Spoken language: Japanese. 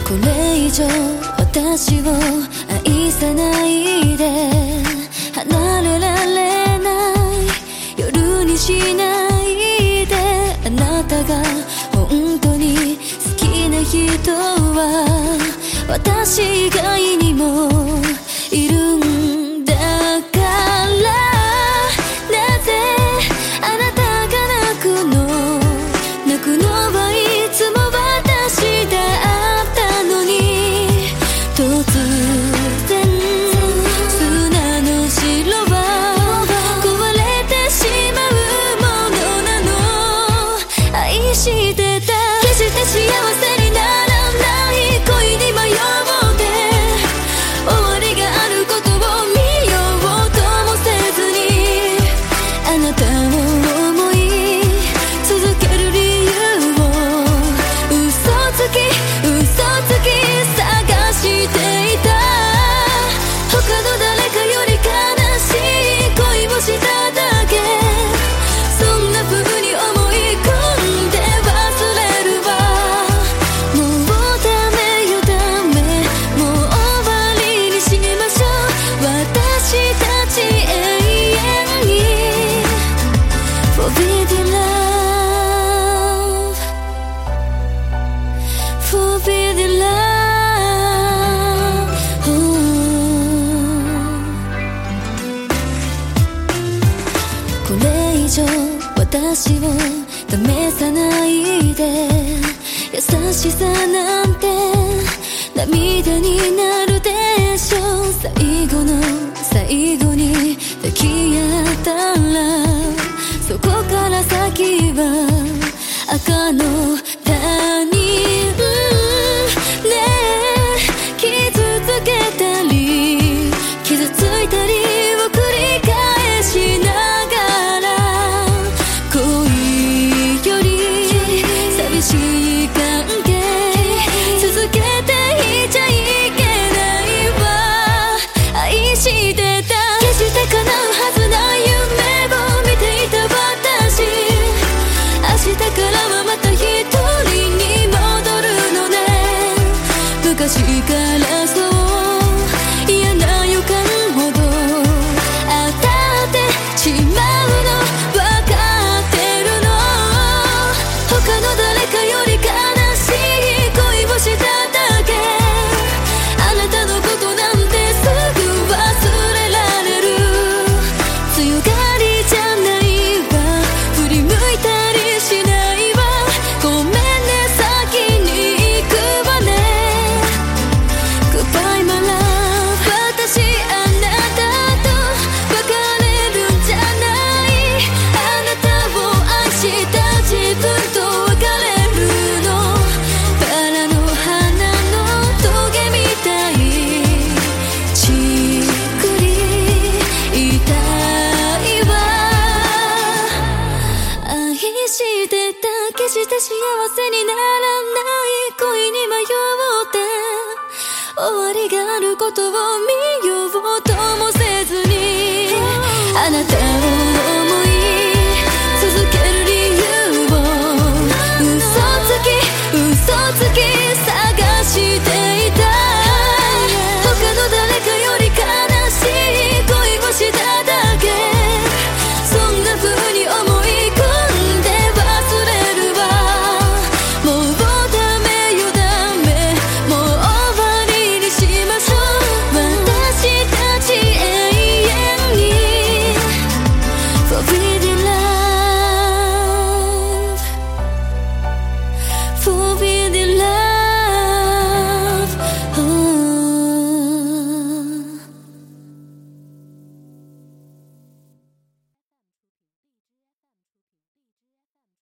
これ以上私を愛さないで、離れられない夜にしないで。あなたが本当に好きな人は私以外にもいるんだから、なぜあなたが泣くの？泣くのはいつも私だったのに。突然砂の城は壊れてしまうものなの。愛してた、決して幸せにならない恋に迷って終わりがあることを見ようともせずに、あなたを思い続ける理由を嘘つき探していた。他の誰かより悲しい恋をしただけ、そんな風に思い込んで忘れるわ。もうダメよダメ、もう終わりにしましょう、私たち永遠に Forbidden love Forbidden love、これ以上私を試さないで。優しさなんて涙になるでしょう。最後の最後に抱き合ったら、そこから先は赤の他人。ねえ、傷つけたり傷ついたりを繰り返しながら、恋より寂しい関係続けていちゃいけないわ。愛してた、決して叶うはずない夢を見ていた私、明日からはまた一人に戻るのね。昔からそう嫌な予感ほど当たってしまうの分かってるの。他の誰かより悲しい恋をしただけ、あなたのことなんてすぐ忘れられる。強がりじゃないわ、振り向いたりしないわ。ごめんね、先に行くわね。 Goodbye my love、 私あなたと別れるんじゃない。あなたを愛した自分と別れるの。バラの花のトゲみたい、じっくり痛いわ。愛してた、決して幸せにならない恋に迷って終わりがあることを見